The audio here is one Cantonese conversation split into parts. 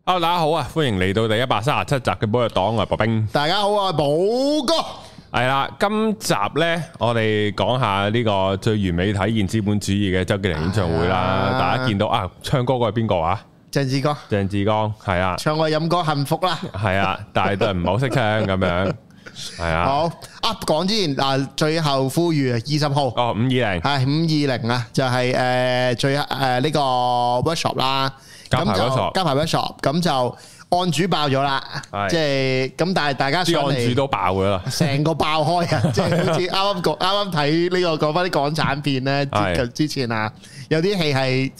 大家好啊，歡迎嚟到第137集嘅寶藥黨，我係白兵。 大家好，我係寶哥。 係啦，今集呢，我哋講下呢個最完美體現資本主義嘅周杰倫演唱會啦。大家見到啊，唱歌嗰係邊個啊？ 鄭志剛。鄭志剛係啊， 唱我飲歌幸福啦。係啊，但係都係唔係好識唱咁樣。係啊。好啊，講之前嗱，最後呼籲20號。 哦，520係 520啊，就係最呢個 workshop 啦。加排 workshop，咁就案主爆咗啦，即係咁，但係大家上嚟， 案主都爆咗啦， 成個爆開啊！即係好似啱睇呢個講翻啲港產片咧，之前啊，有啲戲係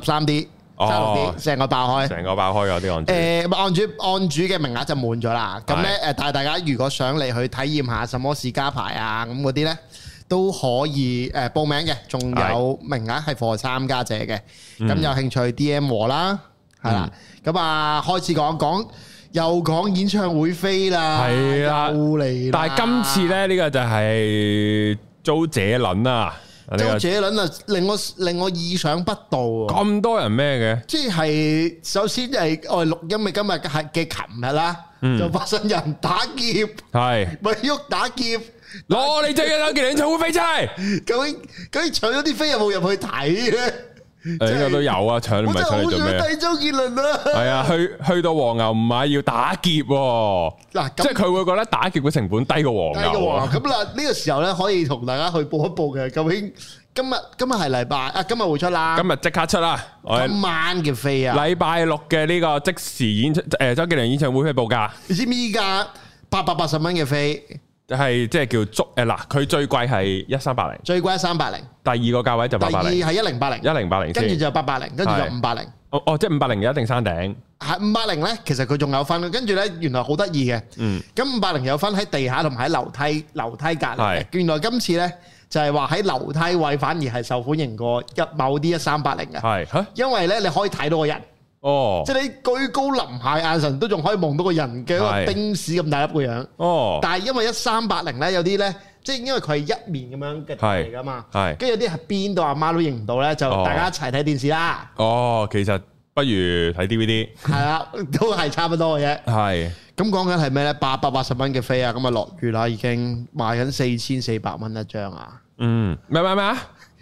33D、36D，成個爆開， 成個爆開嗰啲案主。 案主嘅名額就滿咗啦。咁咧但係大家如果想嚟去體驗下什麼是加排啊咁嗰啲咧，都可以報名嘅，仲有名額係 for 參加者嘅。咁有興趣 DM 我啦，係啦。咁啊，開始又講演唱會飛啦，係啦，又嚟。但係今次咧呢個就係周杰倫啊，周杰倫啊，令我意想不到。 咁多人咩嘅？ 即係首先係我哋錄音嘅今日嘅琴日啦，就發生人打劫，係咪喐打劫？ 攞你最近周杰倫演唱會飛出嚟， 究竟搶咗啲飛有冇入去睇咧？ 應該都有啊，搶唔係搶嚟做咩？我真係好想睇周杰倫啊！係啊，去到黃牛唔買要打劫喎。嗱，即係佢會覺得打劫嘅成本低過黃牛。 咁嗱，呢個時候咧可以同大家去報一報嘅，究竟今日係禮拜啊？今日會出啦， 今日即刻出啦！ 今晚嘅飛啊！ 禮拜六嘅呢個即時周杰倫演唱會嘅報價， 你知唔知依家880蚊嘅飛？ 係即係叫足嗱，佢最貴係1380， 最貴1380，第二個價位就880， 第二係1080，跟住就880，跟住就580。 哦，即係580一定山頂。 係580咧，其實佢仲有分，跟住咧原來好得意嘅。咁580有分喺地下同埋喺樓梯隔離。原來今次咧就係話喺樓梯位反而係受歡迎過某啲1380嘅。係，因為咧你可以睇到個人。哦，即係你居高臨下眼神都仲可以望到個人嘅一個丁屎咁大粒個樣。哦，但係因為1380咧，有啲咧，即係因為佢係一面咁樣嘅嚟噶嘛，係，跟住有啲係邊度阿媽都認唔到咧，就大家一齊睇電視啦。哦， 其實不如睇 DVD。係啊，都係差唔多嘅啫。係，咁講緊係咩咧？880蚊嘅飛啊，咁啊落雨啦，已經賣緊4400蚊一張啊。 咩啊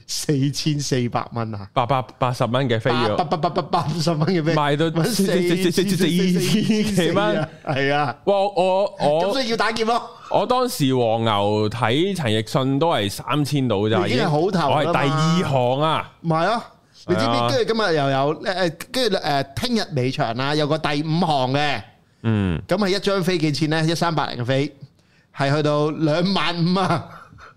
？4400蚊啊 ！880蚊嘅飛要 ，880蚊嘅飛賣到4000幾蚊，係啊！哇！我咁所以要打劫咯。 我當時黃牛睇陳奕迅都係3000到咋， 已經係好頭啦嘛。 我係第二行啊， 唔係啊！你知唔知？跟住今日又有跟住聽日尾場啦，有個第5行嘅，咁係一張飛幾錢咧？1380嘅飛係去到25000啊！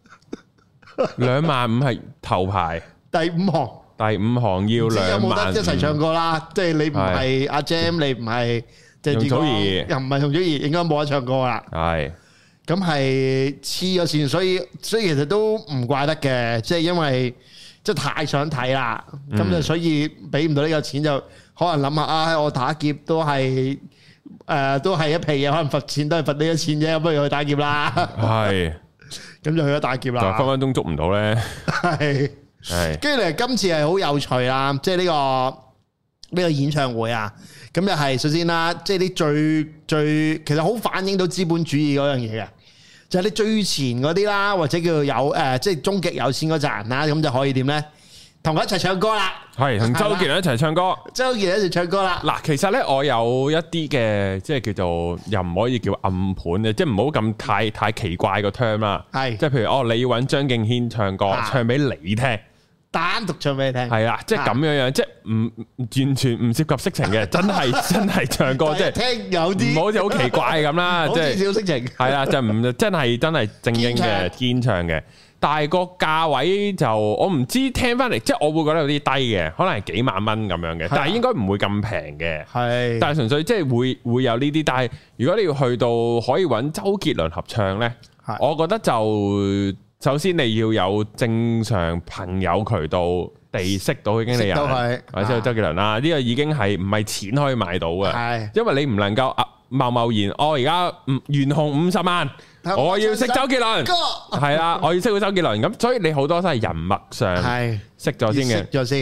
25000係頭排， 第5行要25000。 有冇得一齊唱歌啦？即係你唔係阿 Jam，你唔係容祖兒， 又唔係容祖兒，應該冇得唱歌啦。係，咁係黐咗線，所以其實都唔怪得嘅，即係因為即係太想睇啦，咁就所以俾唔到呢個錢，就可能諗下啊，我打劫都係一皮嘢，可能罰錢都係罰呢個錢啫，不如去打劫啦。係。咁就去咗打劫啦， 分分鐘捉唔到咧。 係，跟住嚟今次係好有趣啦，即係呢個演唱會啊，咁就係首先啦，即係啲最其實好反映到資本主義嗰樣嘢嘅，就係你最前嗰啲啦，或者叫做有即係終極有錢嗰扎人啦，咁就可以點咧？同佢一齊唱歌啦，係同周杰倫一齊唱歌，周杰倫一齊唱歌啦。嗱， 其實咧我有一啲嘅，即係叫做又唔可以叫暗盤嘅，即係唔好咁太奇怪個 term 啦。係，即係譬如你要揾張敬軒唱歌，唱俾你聽， 單獨唱俾你聽， 係啦，即係咁樣樣，即係唔完全唔涉及色情嘅，真係唱歌，即係聽有啲，唔好似好奇怪咁啦，即係少色情， 係啦，就唔真係正經嘅堅唱嘅。但係個價位就我唔知，聽翻嚟即係我會覺得有啲低嘅，可能係幾萬蚊咁樣嘅，但係應該唔會咁平嘅。係，但係純粹即係會有呢啲。但係如果你要去到可以揾周杰倫合唱呢，我覺得就首先你要有正常朋友渠道地識到嘅經理人，或者周杰倫啦，呢個已經係唔係錢可以買到嘅。係，因為你唔能夠貿然，我而家懸紅50萬。我要識周杰倫，係啦，我要識到周杰倫咁，所以你好多都係人脈上識咗先嘅，識咗先。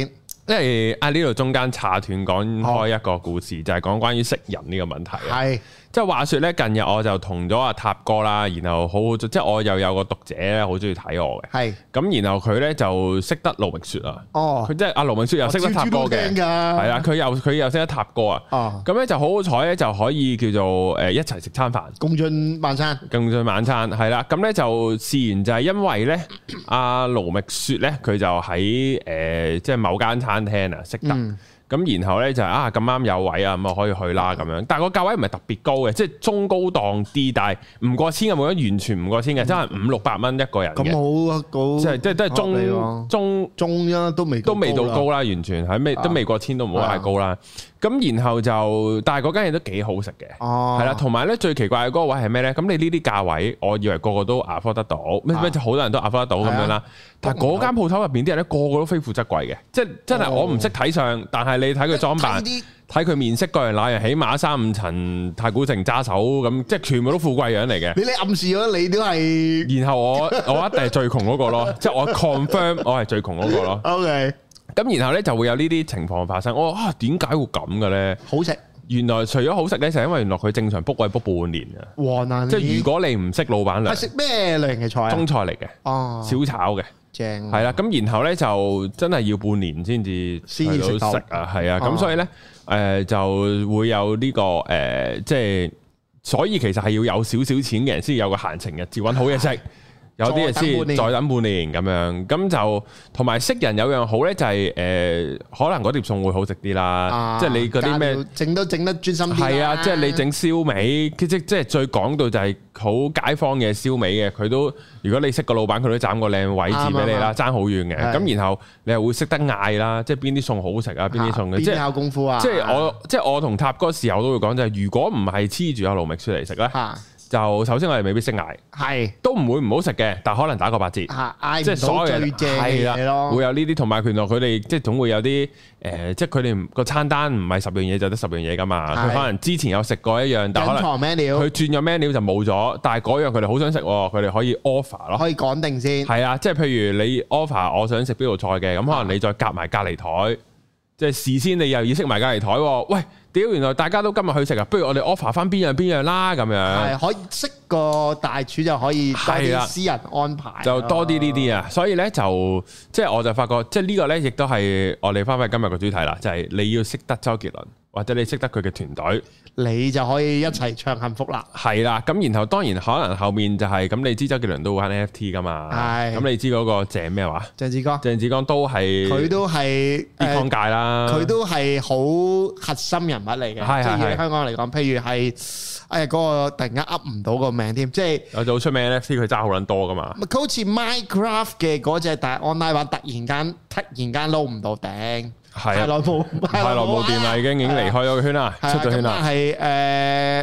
因為呢度中間岔斷講開一個故事，就係講關於識人呢個問題。係，即係話說咧，近日我就同咗阿塔哥啦，然後好即係我又有個讀者咧，好中意睇我嘅。係，咁然後佢咧就識得盧明雪啊。哦，佢即係阿盧明雪又識得塔哥嘅。係啊，佢又識得塔哥啊。哦，咁咧就好好彩咧，就可以叫做一齊食餐飯，共進晚餐。係啦，咁咧就試完就係因為咧，阿盧明雪咧佢就喺即係某間餐廳啊識得，咁然後咧就咁啱有位啊，咁啊可以去啦咁樣。但係個價位唔係特別高嘅，即係中高檔啲，但係唔過千嘅，冇得完全唔過千嘅，真係500-600蚊一個人嘅。咁好高，即係都係中啦，都未到高啦，完全係都未過千，都唔好太高啦。咁然後就，但係嗰間嘢都幾好食嘅，係啦。同埋咧最奇怪嘅嗰個位係咩咧？咁你呢啲價位，我以為個個都 afford 得到，咩就好多人都 afford 得到咁樣啦。但係嗰間鋪頭入邊啲人咧，個個都非富則貴嘅，即係真係我唔識睇相，但係你睇佢裝扮，睇佢面色個人那樣，起碼3-5層太古城揸手咁，即係全部都富貴樣嚟嘅。你暗示咗你都係，然後我一定係最窮嗰個咯，即係我 confirm 我係最窮嗰個咯。OK。咁然後咧就會有呢啲情況發生。我話點解會咁嘅咧？好食，原來除咗好食咧，就係因為原來佢正常 book 位 book 半年啊。哇！難，即係如果你唔識老闆娘，係食咩類型嘅菜啊？中菜嚟嘅，哦，小炒嘅，正係啦。咁然後咧就真係要半年先至食到食啊，係啊。咁所以咧就會有呢個即係，所以其實係要有少少錢嘅人先有個閒情逸致揾好嘢食。有啲嘢先再等半年咁樣，咁就同埋識人有樣好咧，就係可能嗰碟餸會好食啲啦。即係你嗰啲咩整都整得專心啲。係啊，即係你整燒味，即係最講到就係好街坊嘅燒味嘅，佢都如果你識個老闆，佢都斬個靚位置俾你啦，爭好遠嘅。咁然後你又會識得嗌啦，即係邊啲餸好食啊，邊啲餸嘅，即係考功夫啊。即係我同塔哥時候都會講就係，如果唔係黐住阿盧覓雪嚟食咧。就首先我哋未必識嗌，係都唔會唔好食嘅，但可能打個8折，即係所有最正嘅嘢咯，會有呢啲，同埋原來佢哋即係總會有啲即係佢哋個餐單唔係10樣嘢就得10樣嘢噶嘛，佢可能之前有食過一樣，但可能佢轉咗 menu 就冇咗，但係嗰樣佢哋好想食，佢哋可以 offer 咯，可以講定先，係啊，即係譬如你 offer 我想食邊道菜嘅，咁可能你再夾埋隔離台，即係事先你又要識埋隔離台，喂。屌！原來大家都今日去食啊，不如我哋 offer 翻邊樣啦咁樣。係可以識個大廚就可以多啲私人安排，就多啲呢啲啊。所以咧就即係我就發覺，即係呢個咧亦都係我哋翻返今日個主題啦，就係你要識得周杰倫，或者你識得佢嘅團隊，你就可以一齊唱幸福啦。係啦，咁然後當然可能後面就係咁，你知周杰倫都玩 NFT 噶嘛？係。咁你知嗰個鄭咩話？鄭志剛都係佢都係 Bitcoin 界啦，佢都係好核心人物嚟嘅，即係香港嚟講，譬如係嗰個突然間噏唔到個名添，即係有好出名 NFT，佢揸好撚多噶嘛。佢好似 Minecraft 嘅嗰隻，但係 online 版突然間撈唔到頂，係太耐冇掂啦，已經離開咗個圈啦，出咗圈啦。係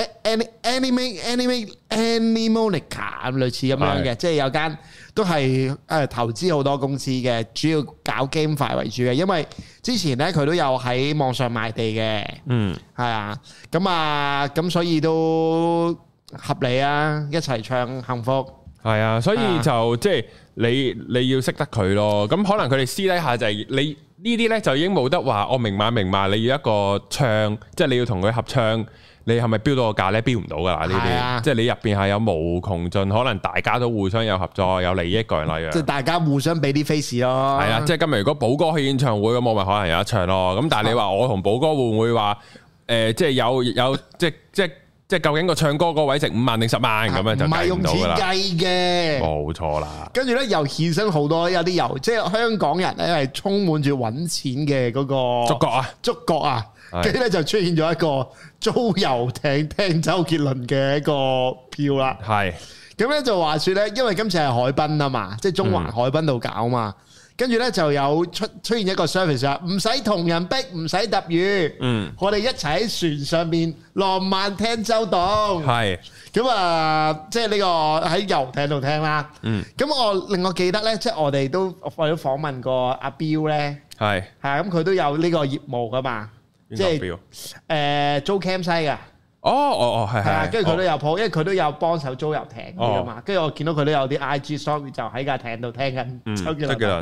Animonica 類似咁樣嘅，即係有間都係投資好多公司嘅，主要搞 GameFi 為主嘅，因為之前咧佢都有喺網上賣地嘅，係啊，咁所以都合理啊，一齊唱幸福，係啊，所以就即係你要識得佢咯，咁可能佢哋私底下就係你呢啲咧就已經冇得話，我明碼，你要一個唱，即係你要同佢合唱。你係咪標到個價咧？標唔到噶啦呢啲，即係你入邊係有無窮盡，可能大家都互相有合作、有利益個人那樣。即係大家互相俾啲 face 咯。係啦，即係今日如果寶哥去演唱會咁，我咪可能有得唱咯。咁但係你話我同寶哥會唔會話即係有即係究竟個唱歌嗰位值5萬定10萬咁樣就計唔到噶啦。唔係用錢計嘅，冇錯啦。跟住咧又衍生好多有啲即係香港人咧係充滿住揾錢嘅嗰個觸覺啊。跟住咧就出現咗一個租遊艇聽周杰倫嘅一個票啦。係咁咧就話說咧，因為今次係海濱啊嘛，即係中環海濱度搞嘛。跟住咧就有出現一個 service 啊，唔使同人逼，唔使揼魚。我哋一齊喺船上邊浪漫聽周董。係咁啊，即係呢個喺遊艇度聽啦。咁令我記得咧，即係我哋都訪問過阿彪咧。係咁佢都有呢個業務噶嘛。即係租 cam 西嘅，係啊，跟住佢都有鋪，因為佢都有幫手租遊艇㗎嘛。跟住我見到佢都有啲 IG story 就喺架艇度聽緊周杰倫。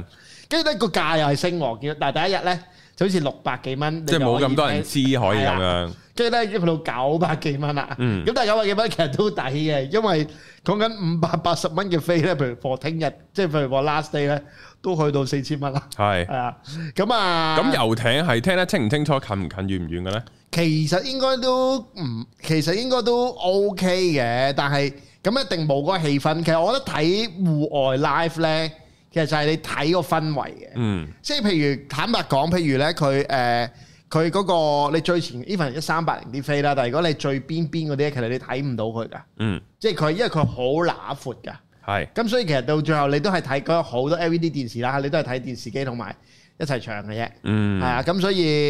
跟住咧個價又係升喎，但係第一日咧就好似600幾蚊， 即係冇咁多人知可以咁樣。跟住咧已經去到900幾蚊啦。咁但係900幾蚊其實都抵嘅，因為講緊580蚊嘅飛咧，譬如 for 聽日，即係譬如 for last day 咧，都去到4000蚊啦。係啊，咁啊， 咁遊艇係聽得清唔清楚，近唔近遠唔遠嘅咧？ 其實應該都 OK 嘅，但係咁一定冇嗰個氣氛。其實我覺得睇戶外 live 咧，其實就係你睇個氛圍嘅。即係譬如坦白講，譬如咧佢嗰個你最前 even 1380啲飛啦，但係如果你最邊嗰啲，其實你睇唔到佢㗎。即係佢因為佢好揦闊㗎。係。咁所以其實到最後你都係睇嗰好多 LED 電視啦，你都係睇電視機同埋一齊場嘅啫。係啊，咁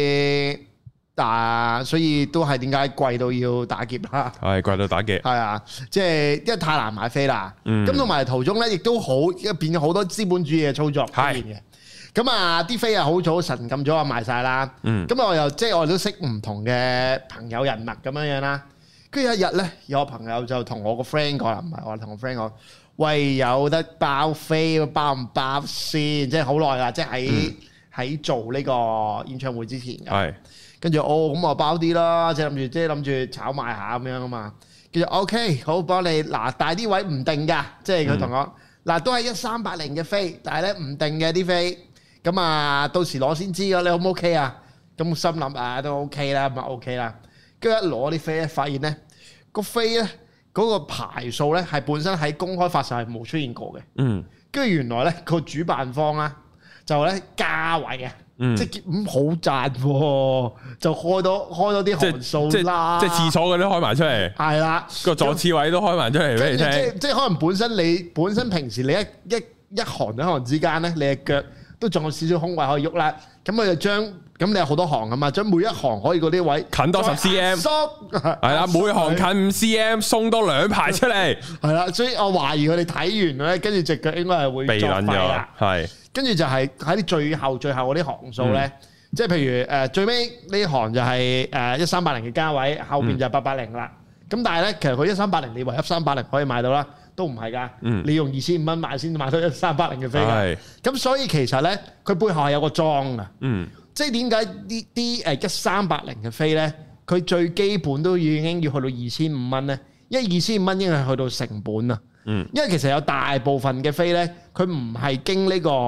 所以都係點解貴到要打劫啦？係貴到打劫。係啊，即係因為太難買飛啦。咁同埋途中咧，亦都變咗好多資本主義嘅操作出現嘅。咁啊，啲飛啊好早神撳咗啊賣晒啦。咁我哋都識唔同嘅朋友人脈咁樣啦。跟住有一日咧，有個朋友就同我個 friend 講啦，唔係我同個 friend 講，喂，有得包飛，包唔包先？即係好耐啦，即係喺做呢個演唱會之前嘅。跟住咁我包啲啦，即係諗住炒賣下咁樣啊嘛。跟住 OK， 好幫你嗱，但係啲位唔定㗎，即係佢同我嗱都係1380嘅飛，但係咧唔定嘅啲飛。咁啊，到時攞先知㗎，你好唔 OK 啊？咁心諗啊，都 OK 啦，咪 OK 啦。跟住一攞啲飛咧，發現咧個飛咧嗰個排數咧係本身喺公開發售係冇出現過嘅。跟住原來咧個主辦方啦就咧加位啊。即係好賺喎，就開多啲行數啦。即係廁所嗰啲開埋出嚟。係啦，個坐廁位都開埋出嚟俾你聽。即係可能本身平時你一行兩行之間咧，你嘅腳都仲有少少空位可以喐啦。咁佢就將你有好多行啊嘛，將每一行可以嗰啲位近多10 cm。係啦，每行近5 cm，鬆多2排出嚟。係啦，所以我懷疑佢哋睇完咧，跟住隻腳應該係會避撚咗。係。跟住就係喺啲最後嗰啲行數咧，即係譬如最尾呢行就係1380嘅價位，後邊就係880啦。咁但係咧，其實佢1380你唯一1380可以買到啦，都唔係㗎。你用2500蚊買先買到1380嘅飛㗎。咁所以其實咧，佢背後係有個裝㗎。即係點解啲1380嘅飛咧，佢最基本都已經要去到2500蚊咧？因為2500蚊已經係去到成本啦。因為其實有大部分嘅飛咧，佢唔係經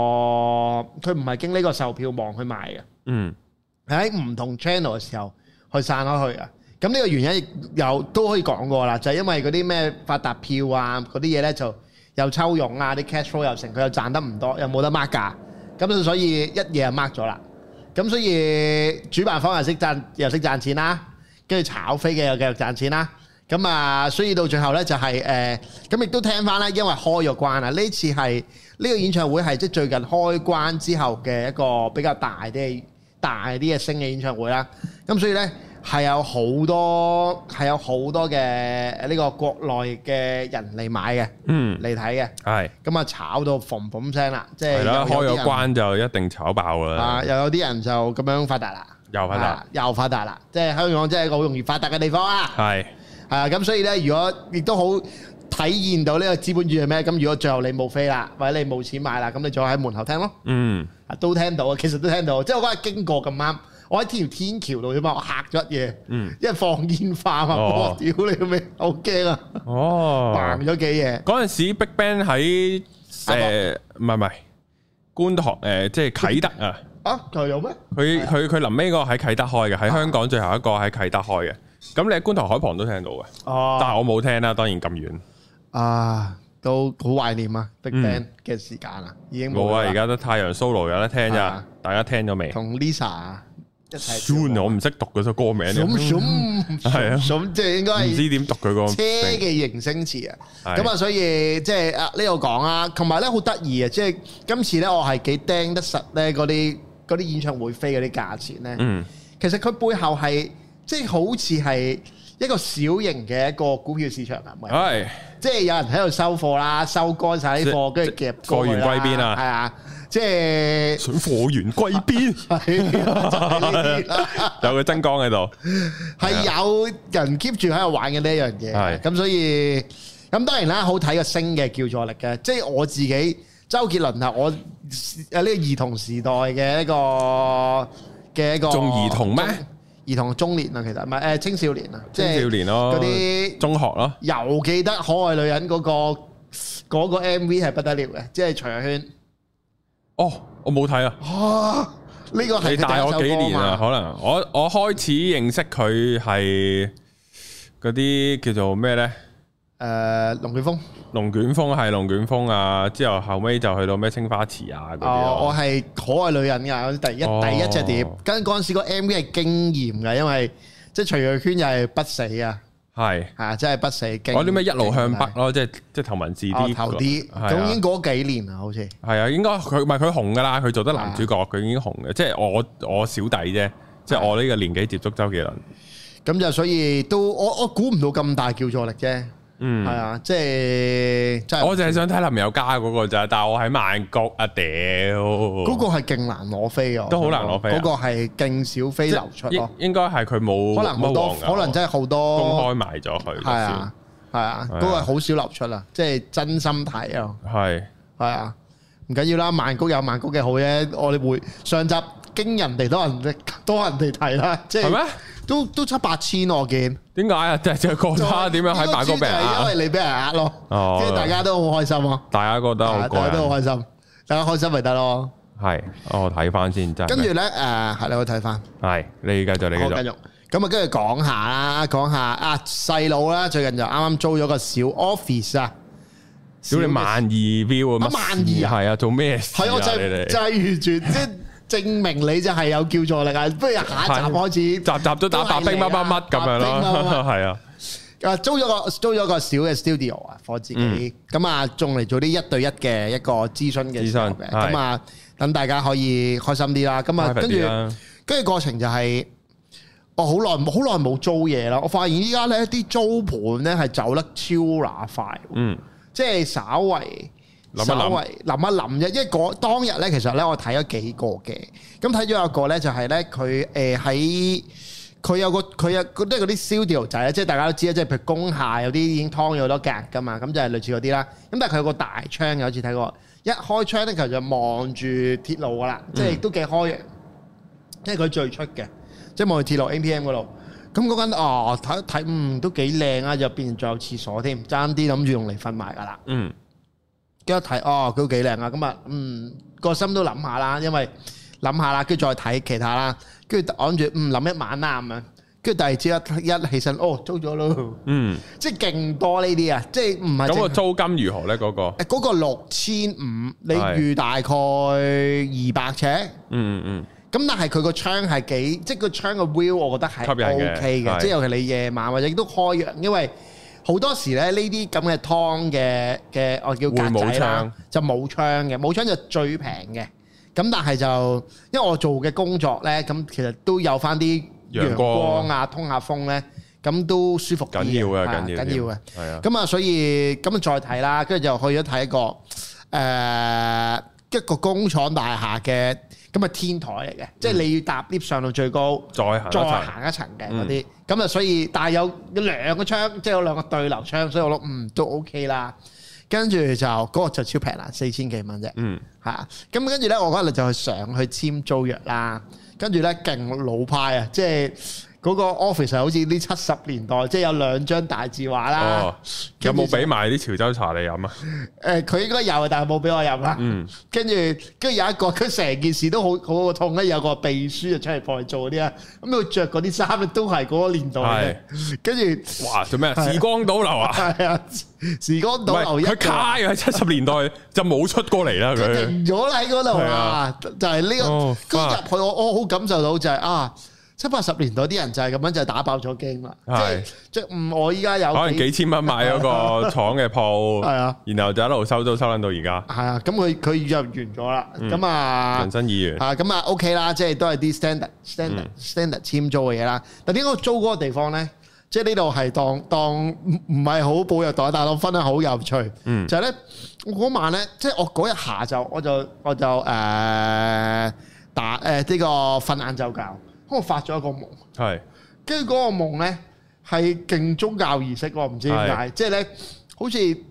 呢個售票網去賣嘅。喺唔同 channel 嘅時候去散開去啊。咁呢個原因都可以講過啦，就係因為嗰啲咩發達票啊嗰啲嘢咧，就又抽佣啊，啲 cash flow 又成，佢又賺得唔多，又冇得 mark 價，咁所以一嘢就 mark 咗啦。咁所以主辦方又識賺錢啦，跟住炒飛嘅又繼續賺錢啦。咁啊，所以到最後咧就係咁亦都聽翻咧，因為開咗關啊，呢次係呢個演唱會係即係最近開關之後嘅一個比較大啲嘅星嘅演唱會啦。咁所以咧係有好多嘅呢個國內嘅人嚟買嘅，嚟睇嘅。係咁啊，炒到嘭嘭聲啦，即係開咗關就一定炒爆㗎啦。啊，又有啲人就咁樣發達啦，又發達啦，即係香港真係一個好容易發達嘅地方啊。係。係啊，咁所以咧，如果亦都好體現到呢個資本主義係咩？咁如果最後你冇飛啦，或者你冇錢買啦，咁你就喺門口聽咯。都聽到啊，其實都聽到。即係我嗰日經過咁啱，我喺條天橋度啫嘛，我嚇咗一嘢。因為放煙花啊嘛，我屌你個咩，好驚啊！扮咗幾嘢。嗰陣時 BigBang 喺唔係觀塘即係啟德啊。啊，就有咩？佢臨尾嗰個喺啟德開嘅，喺香港最後一個喺啟德開嘅。咁你喺觀塘海旁都聽到嘅，但係我冇聽啦，當然咁遠。啊，都好懷念啊 BigBang 嘅時間啊，已經冇啊，而家得太陽 solo 有得聽咋，大家聽咗未？同 Lisa 一齊。Soon 我唔識讀嗰首歌名。係啊，即係應該係唔知點讀佢個車嘅形聲詞啊。咁啊，所以即係呢度講啊，同埋咧好得意啊，即係今次咧我係幾釘得實咧嗰啲演唱會飛嗰啲價錢咧。其實佢背後係。即係好似係一個小型嘅一個股票市場啊，係，即係有人喺度收貨啦，收乾晒啲貨，跟住夾貨源歸邊啊，係啊，即係想貨源歸邊，有個真光喺度，係有人 keep 住喺度玩嘅呢一樣嘢，係，咁所以咁當然啦，好睇個星嘅叫座力嘅，即係我自己周杰倫係我呢個兒童時代嘅一個仲兒童咩？ 兒童中年啊，其實唔係青少年啊， 青少年咯，嗰啲中學咯。 又記得可愛女人嗰個 MV 係不得了嘅，即係徐若瑄。哦， 我冇睇啊。 啊，呢個係你大我幾年啊？可能我開始認識佢係嗰啲叫做咩咧？ 龍捲風。龍捲風啊！之後尾就去到咩青花瓷啊嗰啲。我係可愛女人㗎，第一隻碟，跟嗰陣時個 MV 係驚豔嘅，因為即係徐若瑄又係不死啊，係啊，真係不死。 嗰啲咩一路向北咯，即係頭文字 D 頭啲，咁已經過咗幾年啦，好似係啊，應該佢唔係佢紅㗎啦，佢做得男主角，佢已經紅嘅，即係我小弟啫，即係我呢個年紀接觸周杰倫， 咁就所以都我估唔到咁大叫座力啫。係啊，即係我淨係想睇林宥嘉嗰個咋，但係我喺曼谷啊屌， 嗰個係勁難攞飛啊， 都好難攞飛， 嗰個係勁少飛流出咯， 應該係佢冇可能好多，可能真係好多公開埋咗佢， 係啊，嗰個好少流出啊，即係真心睇啊，係啊，唔緊要啦，曼谷有曼谷嘅好啫，我哋會上集驚人哋多人哋睇啦，即係咩？都7、8千我見，點解啊？即係覺得點樣喺曼谷俾人呃？因為你俾人呃咯，即係大家都好開心咯。大家覺得好，大家都好開心，大家開心咪得咯。係，我睇翻先真。跟住咧，係你去睇翻。係，你繼續，你繼續。咁啊，跟住講下啊，細佬啦，最近就啱啱租咗個小 office 啊，小你萬2 view 啊，12,000係啊，做咩事啊？係我就係完全即係。證明你就係有叫座力啊！不如下一集開始，集都打白兵乜乜咁樣咯，係啊！租咗個小嘅 studio 啊，for 自己咁啊，仲嚟做啲1對1嘅一個諮詢嘅，咁啊，等大家可以開心啲啦。咁啊，跟住過程就係我好耐冇租嘢啦。我發現依家咧啲租盤咧係走得超乸快，即係稍為諗一諗啫，因為當日咧，其實咧我睇咗幾個嘅，咁睇咗一個咧就係咧佢有即係嗰啲 studio 仔咧，即係大家都知啦，即係譬如工廈有啲已經劏咗好多格噶嘛，咁就係類似嗰啲啦。咁但係佢有個大窗，有次睇過，一開窗咧其實就望住鐵路噶啦，即係都幾開揚，因為佢最出嘅，即係望住鐵路 APM 嗰度。咁嗰間睇都幾靚啊，入邊仲有廁所添，爭啲諗住用嚟瞓埋噶啦。跟住一睇，佢都幾靚啊！咁啊，個心都諗下啦，因為諗下啦，跟住再睇其他啦，跟住諗住諗一晚啦咁樣，跟住第二朝一起身，租咗咯，即係勁多呢啲啊！即係唔係咁個租金如何咧？嗰個6500，你預大概200尺，咁但係佢個窗係幾，即係個窗個 view，我覺得係 OK 嘅，即係尤其你夜晚或者都開揚，因為好多時咧呢啲咁嘅湯嘅我叫格仔啦，就冇窗嘅，冇窗就最平嘅。咁但係就因為我做嘅工作咧，咁其實都有翻啲陽光啊，通下風咧，咁都舒服啲嘅，緊要嘅。係啊。咁啊，所以咁啊再睇啦，跟住就去咗睇一個工廠大廈嘅。咁啊天台嚟嘅，即係你要搭 lift 上到最高，再行一層嘅嗰啲，咁啊所以，但係有2個窗，即係有2個對流窗，所以我諗都 OK 啦。跟住就嗰個就超平啦，4000幾蚊啫。係啊，咁跟住咧，我嗰日就上去簽租約啦。跟住咧勁老派啊，即係嗰個 office 係好似啲70年代，即係有2張大字畫啦。有冇俾埋啲潮州茶你飲啊？佢應該有，但係冇俾我飲啦。跟住有一個，佢成件事都好痛咧。有個秘書就出嚟幫佢做嗰啲啊。咁佢着嗰啲衫咧都係嗰個年代嘅。跟住哇，做咩？時光倒流啊！係啊，時光倒流。佢卡喺70年代就冇出過嚟啦。佢停咗喺嗰度啊！就係呢個。跟住入去，我好感受到就係70、80年代啲人就係咁樣就打爆咗機嘛，即係我依家有可能幾千蚊買咗個廠嘅鋪，係啊，然後就一路收租收緊到而家，係啊，咁佢就完咗啦，咁啊，人生意願啊，咁啊 OK 啦，即係都係啲 standard 簽租嘅嘢啦。但點解我租嗰個地方咧？即係呢度係當唔係好寶藥黨，但係我分得好有趣，就係咧我嗰晚咧，即係我嗰日下晝我就打呢個瞓晏晝覺。我發咗一個夢，跟住嗰個夢咧係勁宗教儀式，我唔知點解，即係咧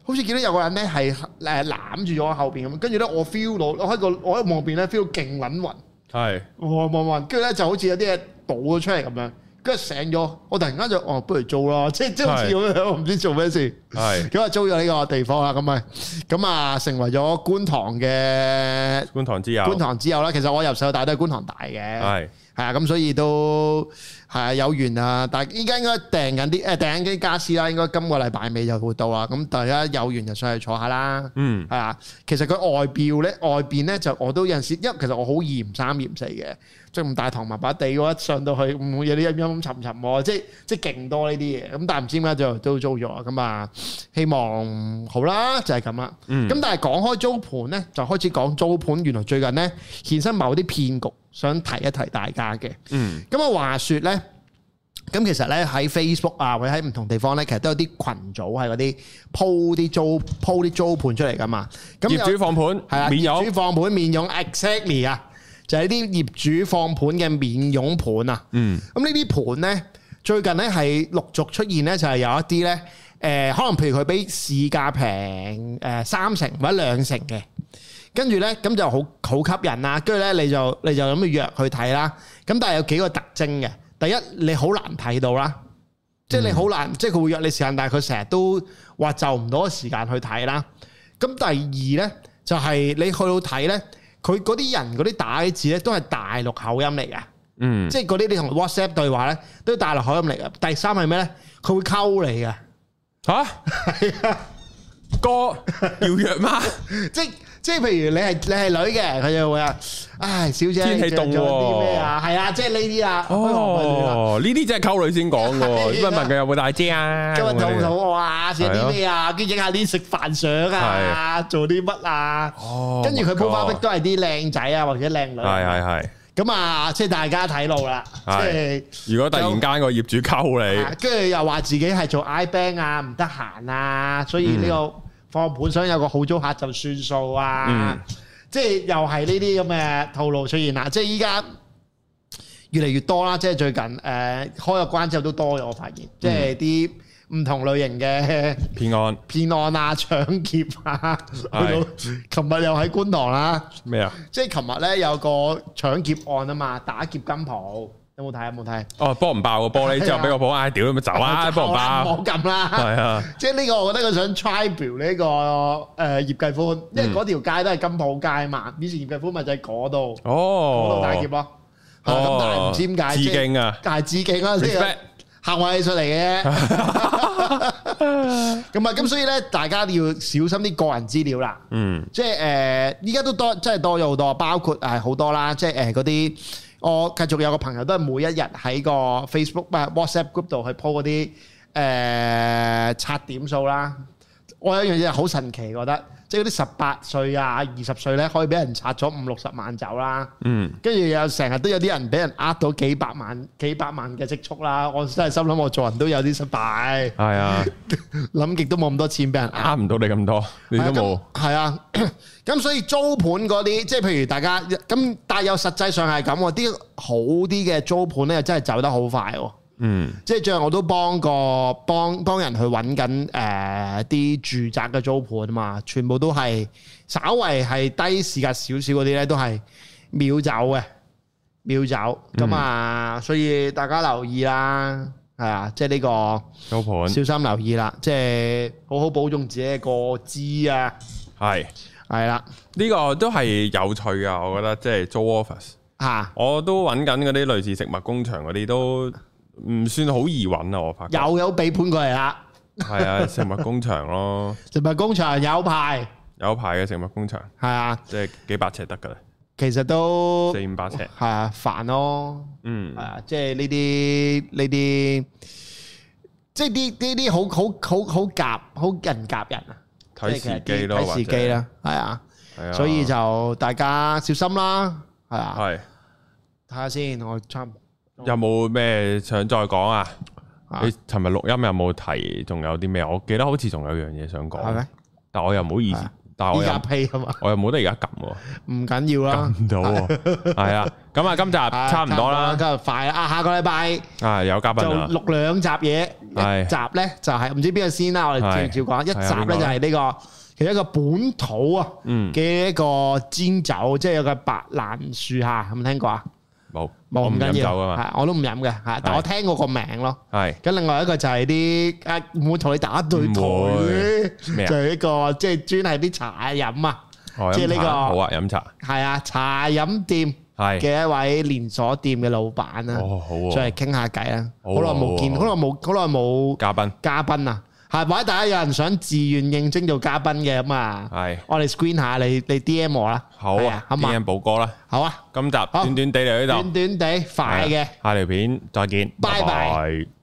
好似見到有個人咧係攬住咗我後邊咁，跟住咧我 feel 到我喺望邊咧 feel 到勁撚暈， 係暈，跟住咧就好似有啲嘢倒咗出嚟咁樣。跟住醒咗，我突然間就不如租咯，即係好似咁樣，我唔知做咩事。係咁啊，租咗呢個地方啦，咁啊成為咗觀塘之友啦。其實我由細到大都係觀塘大嘅，係啊，咁所以都係啊有緣啊。但係依家應該訂緊啲傢俬啦，應該今個禮拜尾就會到啦。咁大家有緣就上去坐下啦。係啊，其實佢外邊咧就我都有陣時，因為其實我好嫌三嫌四嘅。即係咁大堂麻麻地喎，一上到去唔會有啲陰沉沉喎，即係勁多呢啲嘢。咁但係唔知點解就都租咗咁啊？希望好啦，就係咁啦。咁但係講開租盤咧，就開始講租盤。原來最近咧衍生某啲騙局，想提一提大家嘅。咁啊話説咧，咁其實咧喺 Facebook 啊，或者喺唔同地方咧，其實都有啲群組係嗰啲鋪啲租盤出嚟噶嘛。咁業主放盤係啊， 業主放盤免佣 exactly 啊！就係啲業主放盤嘅免佣盤啊，咁呢啲盤咧最近咧係陸續出現咧，就係有一啲咧可能譬如佢比市價平3成或者2成嘅，跟住咧咁就好吸引啦，跟住咧你就咁去約去睇啦。咁但係有幾個特徵嘅，第一你好難睇到啦，即係你好難，即係佢會約你時間，但係佢成日都話就唔到時間去睇啦。咁第二咧就係你去到睇咧。佢嗰啲人嗰啲打嘅字咧都係大陸口音嚟嘅，即係嗰啲你同 WhatsApp 對話咧都係大陸口音嚟嘅。第三係咩咧？佢會溝你嘅嚇，係啊，哥要約嗎？即係譬如你係女嘅，佢就會啊，唉，小姐天氣凍啲咩啊？係啊，即係呢啲啊。 哦，呢啲真係溝女先講嘅，問問佢有冇帶遮啊？ 今日肚唔肚餓啊？食啲咩啊？跟住影下啲食飯相啊，做啲乜啊？跟住佢鋪花壁都係啲靚仔啊，或者靚女。係。咁啊，即係大家睇路啦。即係如果突然間個業主溝你， 跟住又話自己係做 iBank 啊，唔得閒啊，所以呢個放盤想有個好租客就算數啊。即係又係呢啲咁嘅套路出現啦。即係依家越嚟越多啦。即係最近開咗關之後都多咗，我發現即係啲唔同類型嘅騙案啊、搶劫啊，去到琴日又喺觀塘啦。咩啊？即係琴日咧有個搶劫案啊嘛，打劫金鋪，有冇睇？有冇睇？哦，幫唔爆個玻璃之後俾個保安屌咁走啊！幫唔爆？唔好撳啦。係啊，即係呢個我覺得佢想 tribal 呢個葉繼歡，因為嗰條街都係金鋪街嘛。以前葉繼歡咪就喺嗰度，嗰度打劫咯。咁但係唔知點解致敬啊，但係致敬啦，呢個行為藝術嚟嘅。咁啊，咁所以咧，大家要小心啲個人資料啦。即係依家都多，真係多咗好多，包括好多啦。即係嗰啲，我繼續有個朋友都係每一日喺個 Facebook WhatsApp group 度去 po 嗰啲刷點數啦。我有一樣嘢好神奇，覺得即係嗰啲18歲啊、20歲咧，可以俾人刷咗50-60萬走啦。跟住又成日都有啲人俾人呃到幾百萬嘅積蓄啦。我真係心諗，我做人都有啲失敗。係啊，諗極都冇咁多錢俾人呃唔到你咁多，你都冇。係啊，咁所以租盤嗰啲，即係譬如大家咁，但係又實際上係咁喎，啲好啲嘅租盤咧，真係走得好快喎。即係最近我都幫人去揾緊啲住宅嘅租盤啊嘛，全部都係稍為係低市價少少嗰啲咧，都係秒走嘅，秒走咁啊！所以大家留意啦，係啊，即係呢個租盤小心留意啦，即係好好保重自己嘅個資啊！係啦，呢個都係有趣噶，我覺得即係租 office 嚇，我都揾緊嗰啲類似食物工場嗰啲都。唔算好易揾啊！我發覺有俾盤過嚟啦，係啊，食物工場咯，食物工場有牌嘅食物工場，係啊，即係幾百尺得噶啦，其實都400-500尺，係啊，煩咯，係啊，即係呢啲，即係呢啲好夾，好人夾人啊，睇時機咯，睇時機啦，係啊，所以就大家小心啦，係啊，係睇下先，我差唔多。有冇咩想再講啊？你尋日錄音有冇提？仲有啲咩？我記得好似仲有樣嘢想講，係咩？但我又唔好意思， 但係我而家 pay 係嘛？ 我又冇得而家撳喎， 唔緊要啦， 撳唔到喎，係啊。咁啊，今集差唔多啦， 今日快啊！下個禮拜有嘉賓就錄2集嘢，一集咧就係唔知邊個先啦，我哋照講。一集咧就係呢個其實一個本土啊嘅一個煎酒，即係有個白蘭樹下，有冇聽過啊？ 冇， 唔緊要， 係我都唔飲嘅，係，但我聽過個名咯。 係。咁另外一個就係啲唔會同你打對台，就係一個即係專係啲茶飲啊，即係呢個好啊，飲茶係啊，茶飲店嘅一位連鎖店嘅老闆啊，再嚟傾下偈啊，好耐冇見，好耐冇嘉賓啊。係，或者大家有人想自願應徵做嘉賓嘅咁啊，係，我哋 screen 下你 DM 我啦， 好啊，DM 寶哥啦， 好啊， 今集短短地嚟呢度， 短短地快嘅， 下條片再見，拜拜。